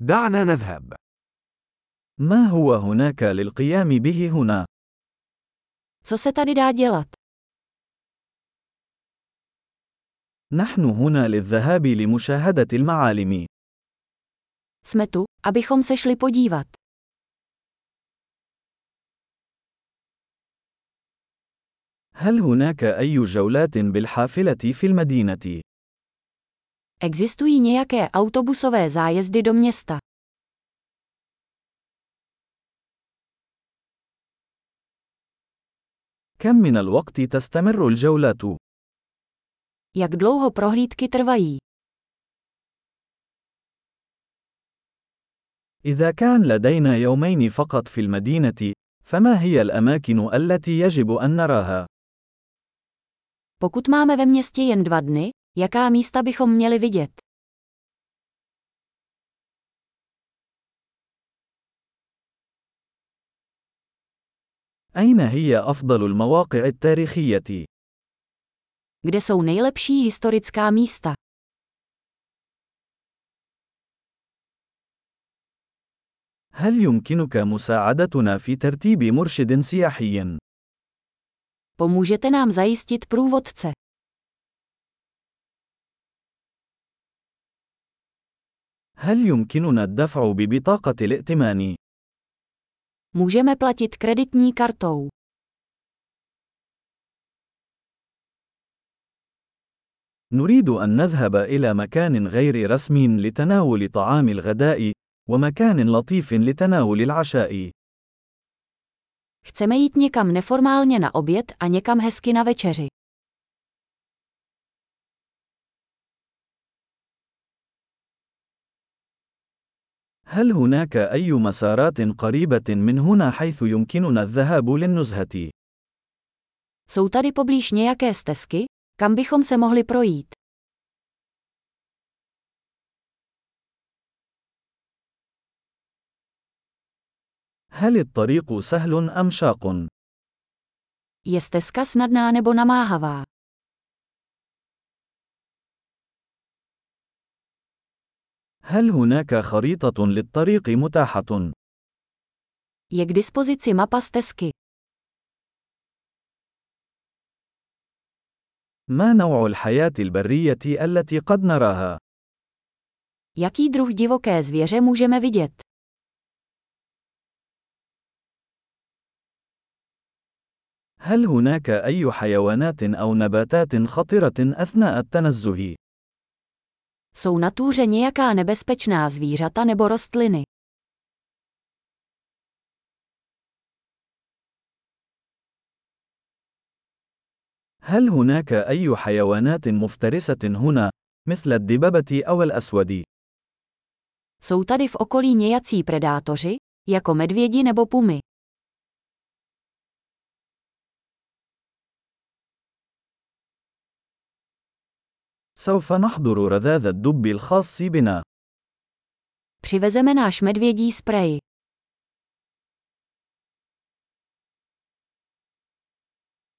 دعنا نذهب. ما هو هناك للقيام به هنا؟ Co se tady dá dělat? نحن هنا للذهاب لمشاهدة المعالم. Jsme tu, abychom se šli podívat. هل هناك أي جولات بالحافلة في المدينة؟ Existují nějaké autobusové zájezdy do města? كم من الوقت تستمر الجولات؟ Jak dlouho prohlídky trvají? إذا كان لدينا يومين فقط في المدينة، فما هي الأماكن التي يجب أن نراها؟ Pokud máme ve městě jen 2 dny, jaká místa bychom měli vidět? أين هي أفضل المواقع التاريخية؟ Kde jsou nejlepší historická místa? هل يمكنك مساعدتنا في ترتيب مرشد سياحي؟ Pomůžete nám zajistit průvodce. هل يمكننا الدفع ببطاقة الائتمان؟ Můžeme platit kreditní kartou. نريد أن نذهب إلى مكان غير رسمي لتناول طعام الغداء، ومكان لطيف لتناول العشاء. Chceme jít někam neformálně na oběd a někam hezky na večeři. هل هناك أي مسارات قريبة من هنا حيث يمكننا الذهاب للنزهة؟ Jsou tady poblíž nějaké stezky, kam bychom se mohli projít? هل الطريق سهل أم شاق؟ Je stezka snadná nebo namáhavá? هل هناك خريطة للطريق متاحة؟ Je k dispozici mapa stezky. ما نوع الحياة البرية التي قد نراها؟ Jaký druh divoké zvěře můžeme vidět? هل هناك أي حيوانات أو نباتات خطرة أثناء التنزه؟ Jsou na túře nějaká nebezpečná zvířata nebo rostliny? هل هناك أي حيوانات مفترسة هنا، مثل الدببة أو الأسود؟ Jsou tady v okolí nějací predátoři, jako medvědi nebo pumy? سوف نحضر رذاذ الدب الخاص بنا. Přivezeme náš medvědí sprej.